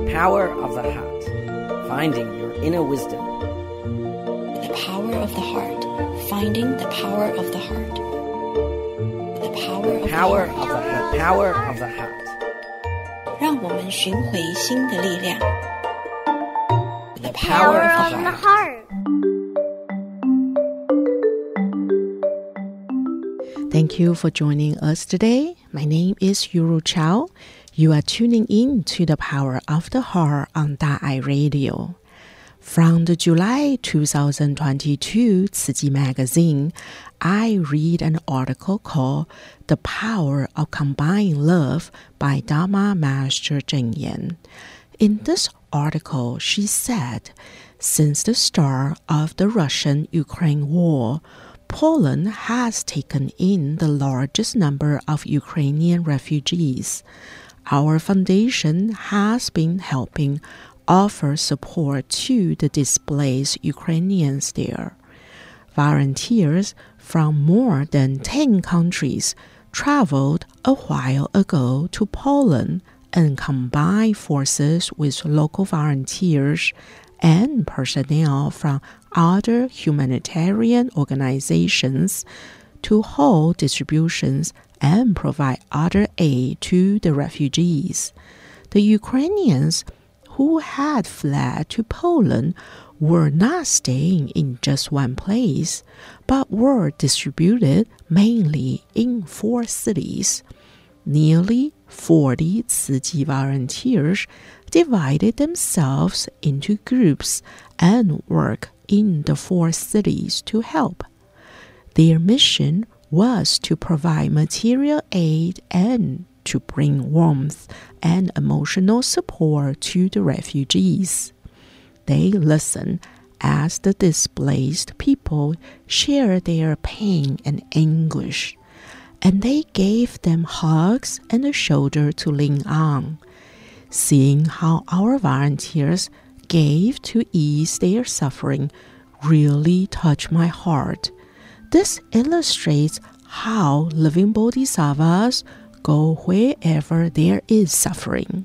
Power of the Heart. Finding your inner wisdom. The Power of the Heart. Finding the Power of the Heart. The Power of the Heart. The Power of the Heart. 讓我們尋回心的力量。The Power of the Heart. Thank you for joining us today. My name is Yuru Chao. You are tuning in to the Power of the Heart on Da'ai Radio. From the July 2022 Tzu Chi magazine, I read an article called The Power of Combined Love by Dharma Master Cheng Yen. In this article, she said, since the start of the Russian-Ukraine war, Poland has taken in the largest number of Ukrainian refugees. Our foundation has been helping offer support to the displaced Ukrainians there. Volunteers from more than 10 countries traveled a while ago to Poland and combined forces with local volunteers and personnel from other humanitarian organizations to hold distributions and provide other aid to the refugees. The Ukrainians who had fled to Poland were not staying in just one place, but were distributed mainly in 4 cities. Nearly 40 Tzu Chi volunteers divided themselves into groups and worked in the 4 cities to help. Their mission was to provide material aid and to bring warmth and emotional support to the refugees. They listened as the displaced people shared their pain and anguish, and they gave them hugs and a shoulder to lean on. Seeing how our volunteers gave to ease their suffering really touched my heart. This illustrates how living bodhisattvas go wherever there is suffering.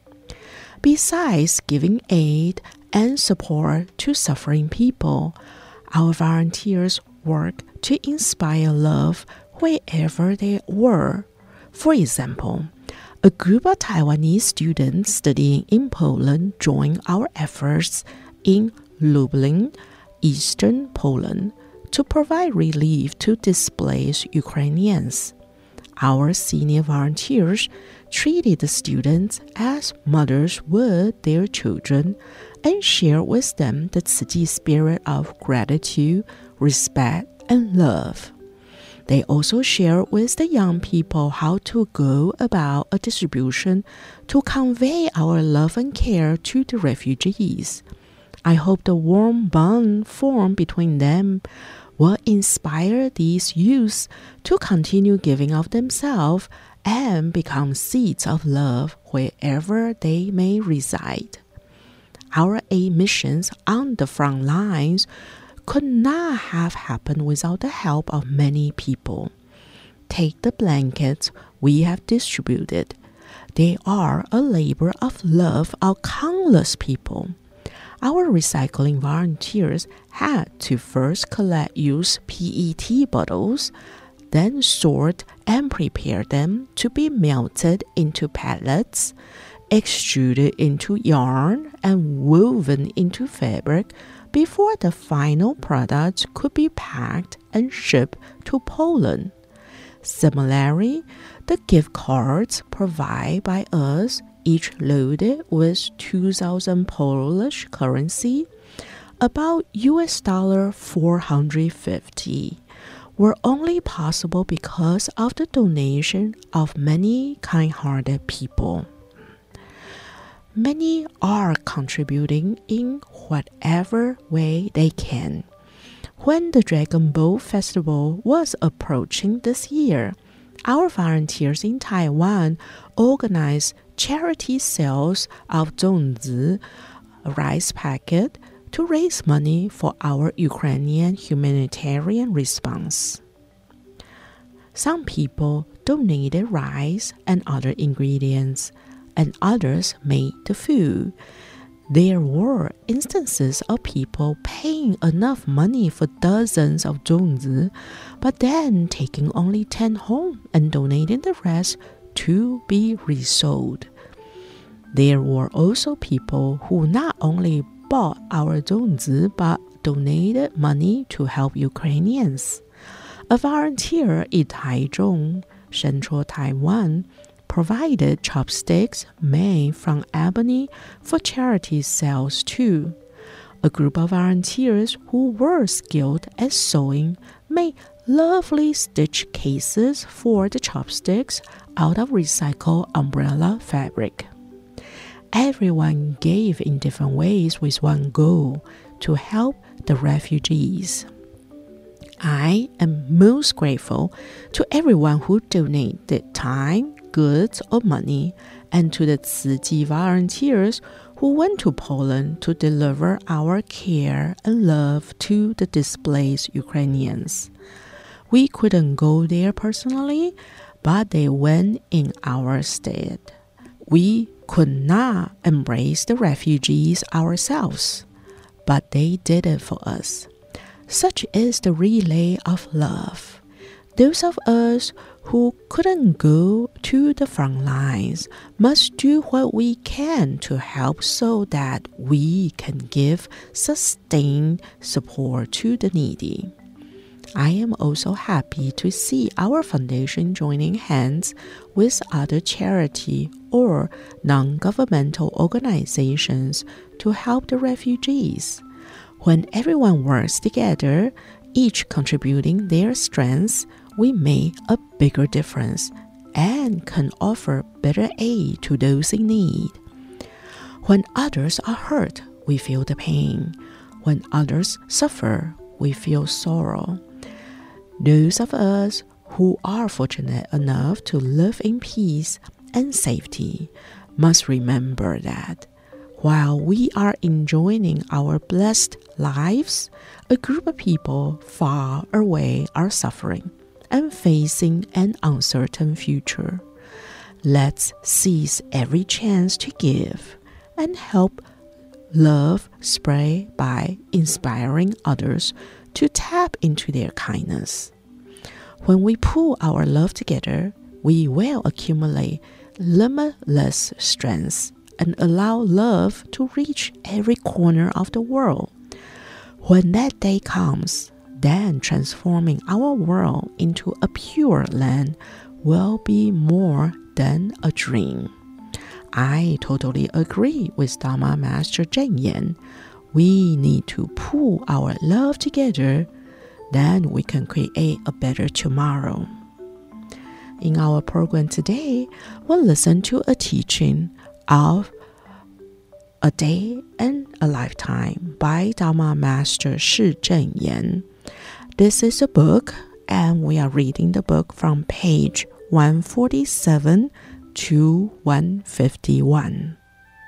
Besides giving aid and support to suffering people, our volunteers work to inspire love wherever they were. For example, a group of Taiwanese students studying in Poland joined our efforts in Lublin, Eastern Poland, to provide relief to displaced Ukrainians. Our senior volunteers treated the students as mothers would their children and shared with them the Tzu Chi spirit of gratitude, respect, and love. They also shared with the young people how to go about a distribution to convey our love and care to the refugees. I hope the warm bond formed between them will inspire these youths to continue giving of themselves and become seeds of love wherever they may reside. Our aid missions on the front lines could not have happened without the help of many people. Take the blankets we have distributed. They are a labor of love of countless people. Our recycling volunteers had to first collect used PET bottles, then sort and prepare them to be melted into pellets, extruded into yarn, and woven into fabric before the final product could be packed and shipped to Poland. Similarly, the gift cards provided by us, each loaded with 2,000 Polish currency, about $450, were only possible because of the donation of many kind-hearted people. Many are contributing in whatever way they can. When the Dragon Boat Festival was approaching this year, our volunteers in Taiwan organized charity sales of zongzi, a rice packet, to raise money for our Ukrainian humanitarian response. Some people donated rice and other ingredients. and others made the food. There were instances of people paying enough money for dozens of 粽子, but then taking only 10 home and donating the rest to be resold. There were also people who not only bought our 粽子 but donated money to help Ukrainians. A volunteer in Taichung, Central Taiwan, provided chopsticks made from ebony for charity sales too. A group of volunteers who were skilled at sewing made lovely stitch cases for the chopsticks out of recycled umbrella fabric. Everyone gave in different ways with one goal: to help the refugees. I am most grateful to everyone who donated time, goods, or money, and to the Tzu Chi volunteers who went to Poland to deliver our care and love to the displaced Ukrainians. We couldn't go there personally, but they went in our stead. We could not embrace the refugees ourselves, but they did it for us. Such is the relay of love. Those of us who couldn't go to the front lines must do what we can to help so that we can give sustained support to the needy. I am also happy to see our foundation joining hands with other charity or non-governmental organizations to help the refugees. When everyone works together, each contributing their strengths, we make a bigger difference and can offer better aid to those in need. When others are hurt, we feel the pain. When others suffer, we feel sorrow. Those of us who are fortunate enough to live in peace and safety must remember that while we are enjoying our blessed lives, a group of people far away are suffering and facing an uncertain future. Let's seize every chance to give and help love spread by inspiring others to tap into their kindness. When we pull our love together, we will accumulate limitless strength and allow love to reach every corner of the world. When that day comes, then transforming our world into a pure land will be more than a dream. I totally agree with Dharma Master Cheng Yen. We need to pull our love together, then we can create a better tomorrow. In our program today, we'll listen to a teaching of A Day and a Lifetime by Dharma Master Shi Cheng Yen. This is a book, and we are reading the book from page 147 to 151.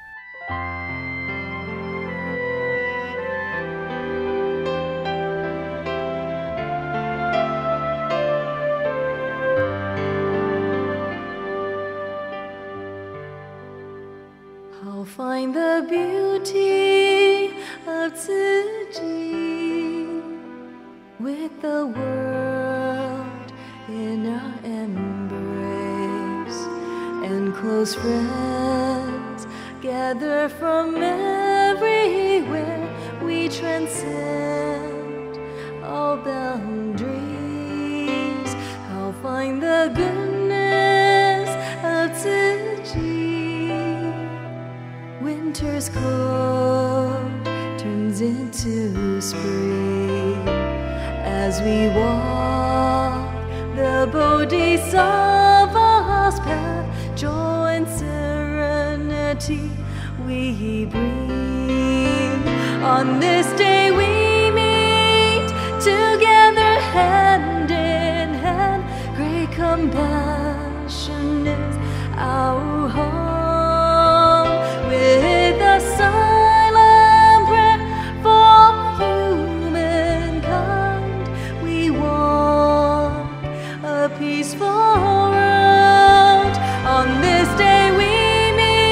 I'll find the beauty of Tzu Chi with the world in our embrace, and close friends gather from everywhere. We transcend all boundaries. I'll find the goodness of Tzu Chi. Winter's cold turns into spring as we walk the Bodhisattva's path. Joy and serenity we bring. On this day we meet together hand in hand. Great compassion is our home. With a silent prayer for humankind, we walk a peaceful road. On this day we meet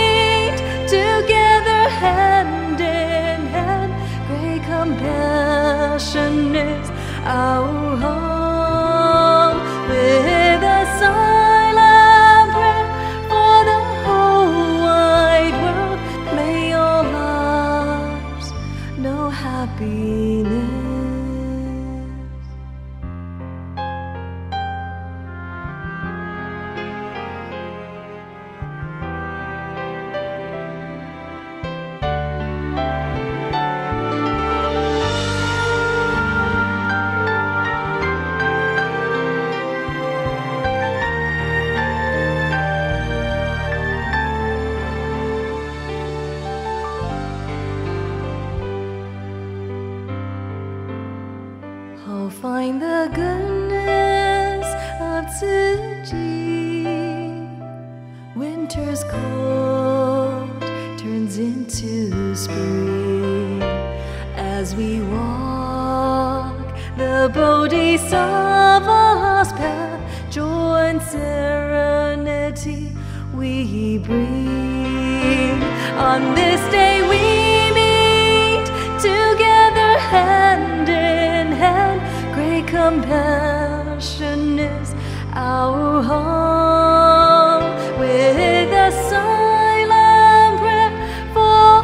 winter's cold turns into spring. As we walk the Bodhisattva's path, joy and serenity we bring. On this day we meet together hand in hand. Great compassion is our home. With a silent prayer for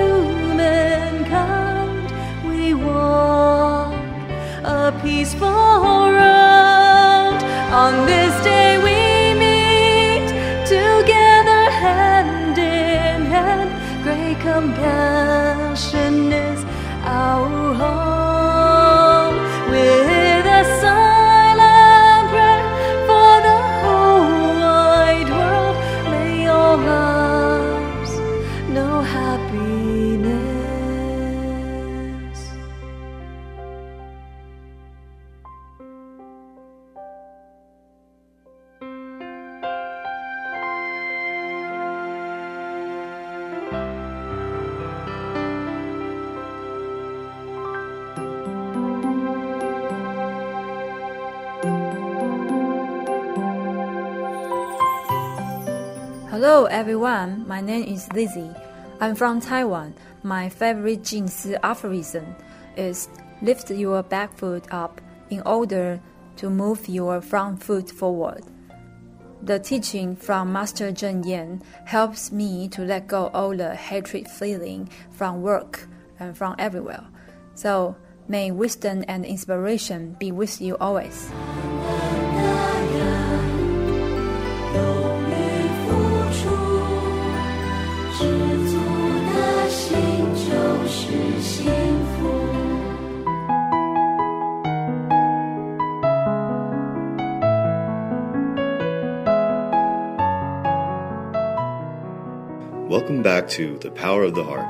humankind, we walk a peaceful road. On this day we meet together hand in hand. Great compassion is our home. With a silent prayer for the whole wide world, may all lives know happiness. Hello everyone, my name is Lizzie. I'm from Taiwan. My favorite Jing Si aphorism is lift your back foot up in order to move your front foot forward. The teaching from Master Zheng Yan helps me to let go all the hatred feeling from work and from everywhere. So may wisdom and inspiration be with you always. Welcome back to The Power of the Heart.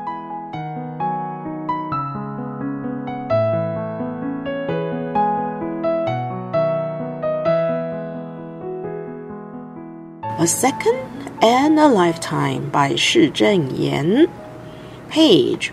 A Second and a Lifetime by Shi Zheng-Yan. Page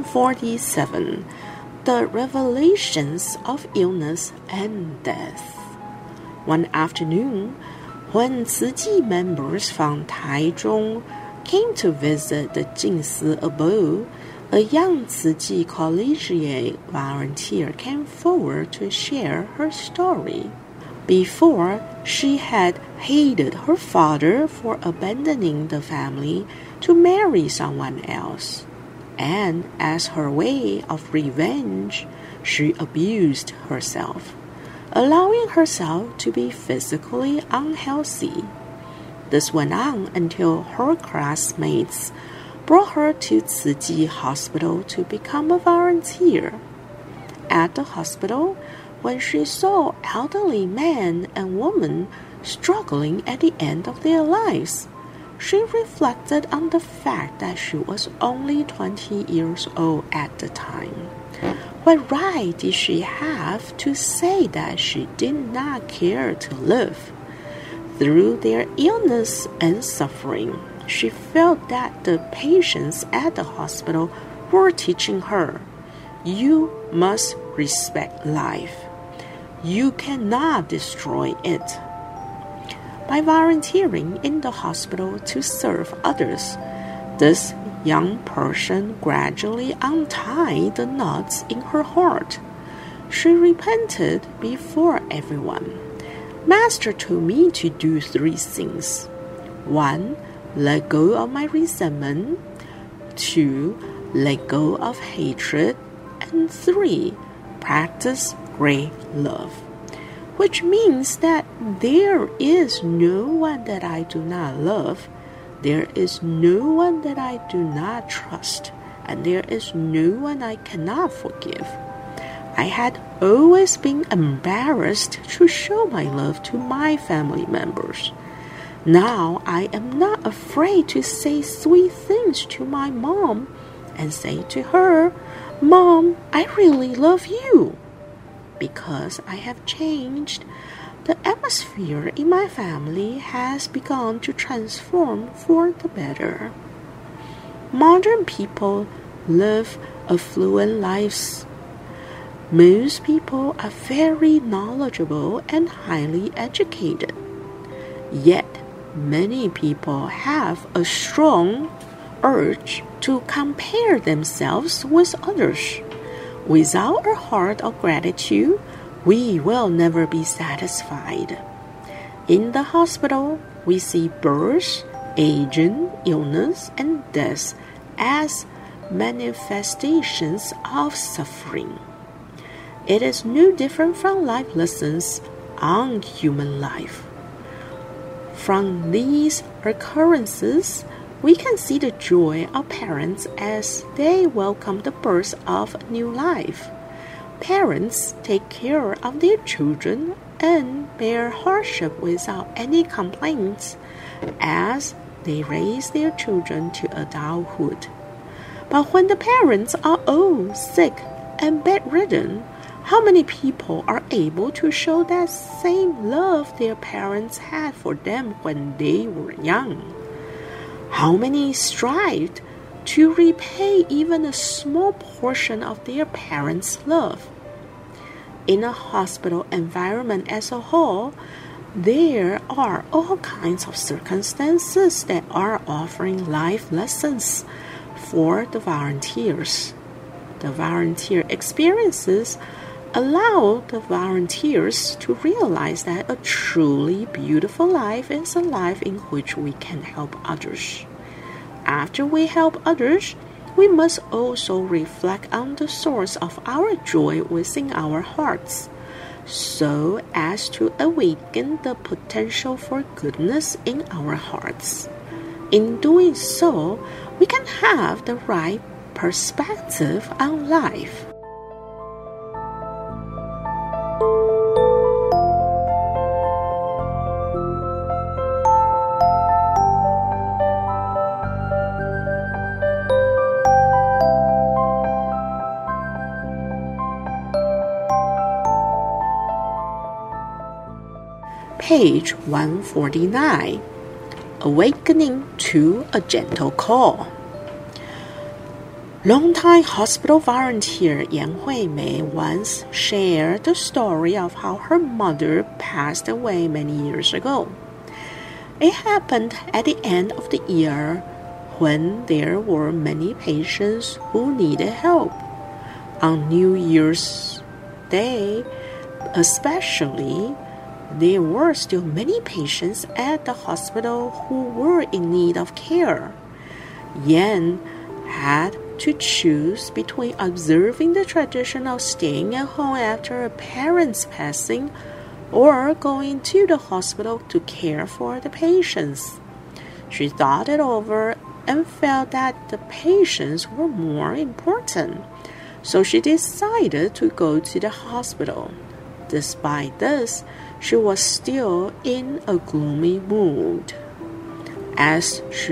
147. The Revelations of Illness and Death. One afternoon, when Tzu Chi members from Taichung came to visit the Jingsi abode, a young Tzu Chi collegiate volunteer came forward to share her story. Before, she had hated her father for abandoning the family to marry someone else, and as her way of revenge, she abused herself, allowing herself to be physically unhealthy. This went on until her classmates brought her to Tzu Chi Hospital to become a volunteer. At the hospital, when she saw elderly men and women struggling at the end of their lives, she reflected on the fact that she was only 20 years old at the time. What right did she have to say that she did not care to live? Through their illness and suffering, she felt that the patients at the hospital were teaching her, you must respect life. You cannot destroy it. By volunteering in the hospital to serve others, this young person gradually untied the knots in her heart. She repented before everyone. Master told me to do 3 things. 1. Let go of my resentment. 2. Let go of hatred. And 3. Practice great love. Which means that there is no one that I do not love. There is no one that I do not trust. And there is no one I cannot forgive. I had always been embarrassed to show my love to my family members. Now I am not afraid to say sweet things to my mom and say to her, Mom, I really love you. Because I have changed, The atmosphere in my family has begun to transform for the better. Modern people live affluent lives. Most people are very knowledgeable and highly educated. Yet, many people have a strong urge to compare themselves with others. Without a heart of gratitude, we will never be satisfied. In the hospital, we see birth, aging, illness, and death as manifestations of suffering. It is no different from life lessons on human life. From these occurrences, we can see the joy of parents as they welcome the birth of a new life. Parents take care of their children and bear hardship without any complaints as they raise their children to adulthood. But when the parents are old, sick, and bedridden, how many people are able to show that same love their parents had for them when they were young? How many strived to repay even a small portion of their parents' love? In a hospital environment as a whole, there are all kinds of circumstances that are offering life lessons for the volunteers. The volunteer experiences allow the volunteers to realize that a truly beautiful life is a life in which we can help others. After we help others, we must also reflect on the source of our joy within our hearts, so as to awaken the potential for goodness in our hearts. In doing so, we can have the right perspective on life. Page 149. Awakening to a Gentle Call. Longtime hospital volunteer Yan Hui-mei once shared the story of how her mother passed away many years ago. It happened at the end of the year when there were many patients who needed help. On New Year's Day, especially, there were still many patients at the hospital who were in need of care. Yan had to choose between observing the tradition of staying at home after a parent's passing or going to the hospital to care for the patients. She thought it over and felt that the patients were more important, so she decided to go to the hospital. Despite this, she was still in a gloomy mood. As she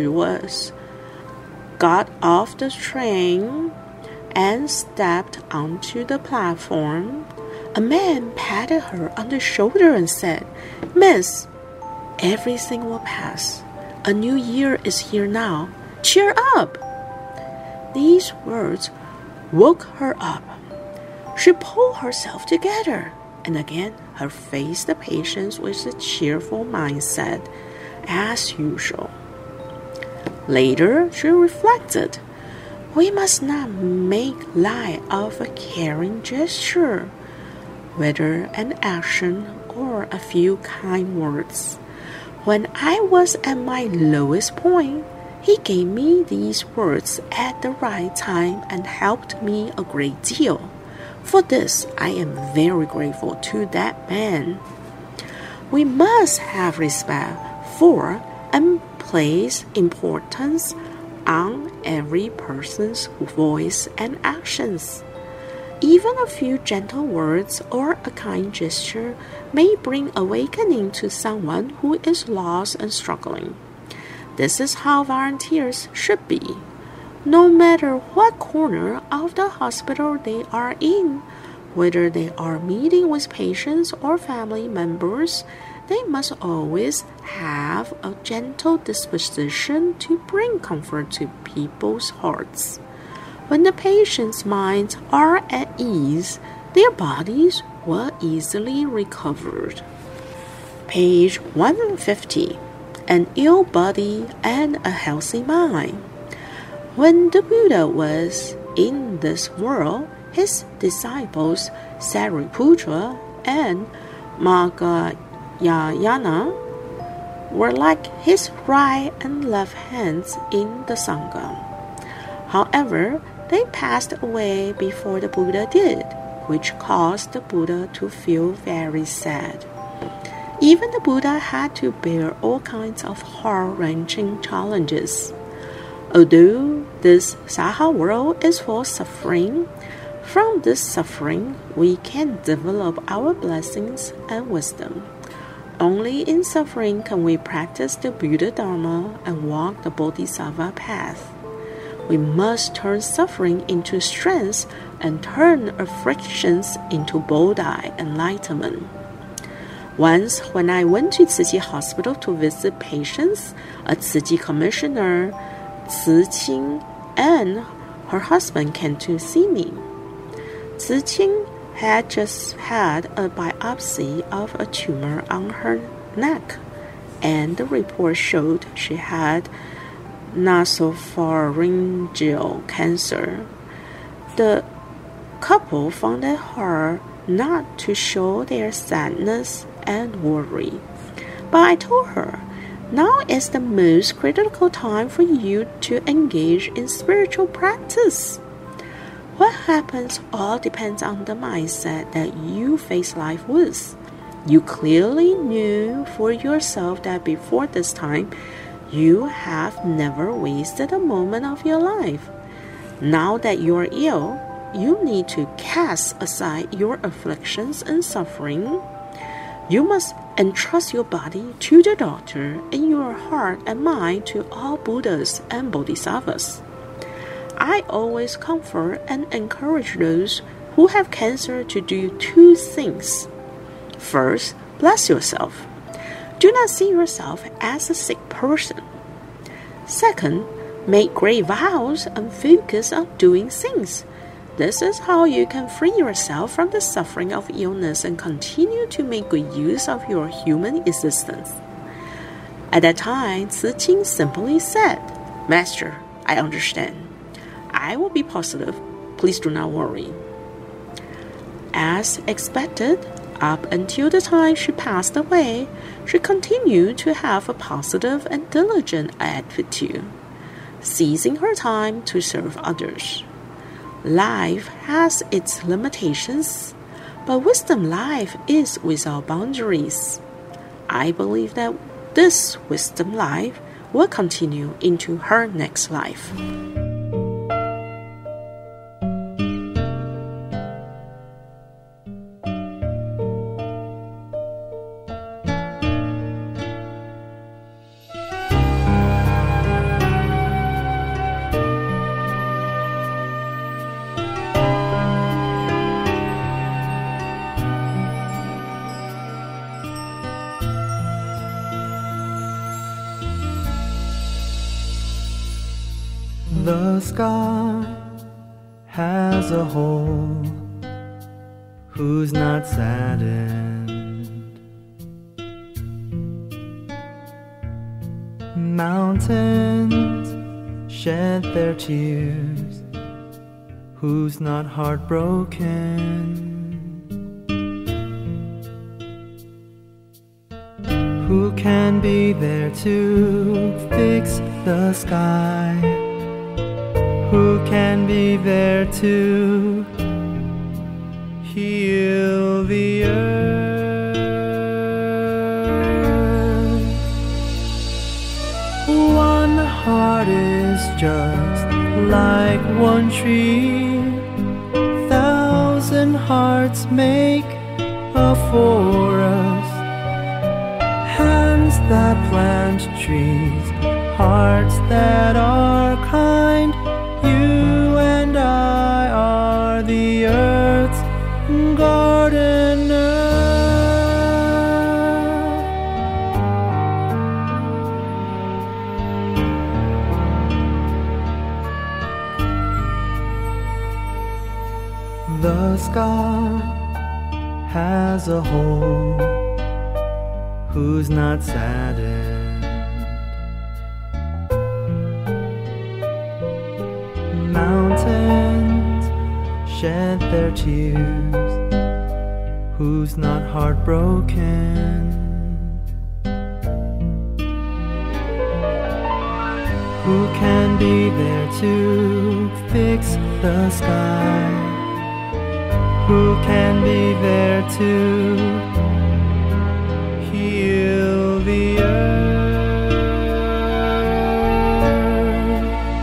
got off the train and stepped onto the platform, a man patted her on the shoulder and said, "Miss, everything will pass. A new year is here now. Cheer up." These words woke her up. She pulled herself together and again her faced the patients with a cheerful mindset, as usual. Later, she reflected, "We must not make light of a caring gesture, whether an action or a few kind words. When I was at my lowest point, he gave me these words at the right time and helped me a great deal. For this, I am very grateful to that man." We must have respect for and place importance on every person's voice and actions. Even a few gentle words or a kind gesture may bring awakening to someone who is lost and struggling. This is how volunteers should be. No matter what corner of the hospital they are in, Whether they are meeting with patients or family members, they must always have a gentle disposition to bring comfort to people's hearts. When the patient's minds are at ease, their bodies will easily recover. Page 150. An ill body and a healthy mind. When the Buddha was in this world, his disciples Sariputra and Mahayana were like his right and left hands in the Sangha. However, they passed away before the Buddha did, which caused the Buddha to feel very sad. Even the Buddha had to bear all kinds of heart-wrenching challenges. Although this Saha world is full of suffering, from this suffering we can develop our blessings and wisdom. Only in suffering can we practice the Buddha Dharma and walk the Bodhisattva path. We must turn suffering into strength and turn afflictions into Bodhi enlightenment. Once, when I went to Tzu Chi Hospital to visit patients, a Tzu Chi commissioner, Tzu Qing, and her husband came to see me. Tzu Qing had just had a biopsy of a tumor on her neck, and the report showed she had nasopharyngeal cancer. The couple found it hard not to show their sadness and worry. But I told her, now is the most critical time for you to engage in spiritual practice. What happens all depends on the mindset that you face life with. You clearly knew for yourself that before this time, you have never wasted a moment of your life. Now that you are ill, you need to cast aside your afflictions and suffering. You must entrust your body to the doctor and your heart and mind to all Buddhas and Bodhisattvas. I always comfort and encourage those who have cancer to do two things. First, bless yourself. Do not see yourself as a sick person. Second, make great vows and focus on doing things. This is how you can free yourself from the suffering of illness and continue to make good use of your human existence. At that time, Tzu Qing simply said, Master, I understand. I will be positive. Please do not worry. As expected, up until the time she passed away, she continued to have a positive and diligent attitude, seizing her time to serve others. Life has its limitations, but wisdom life is without boundaries. I believe that this wisdom life will continue into her next life. The sky has a hole who's not saddened. Mountains shed their tears who's not heartbroken. Who can be there to fix the sky? Who can be there to heal the earth? One heart is just like one tree. 1,000 hearts make a forest. Hands that plant trees, hearts that are kind. You and I are the earth's the sky has a hole who's not saddened. Mountains shed their tears, who's not heartbroken? Who can be there to fix the sky? Who can be there to heal the earth?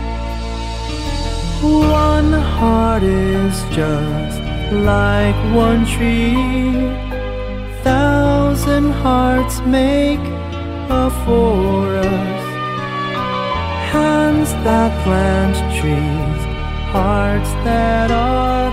One heart is just like one tree. 1,000 hearts make a forest. Hands that plant trees, hearts that are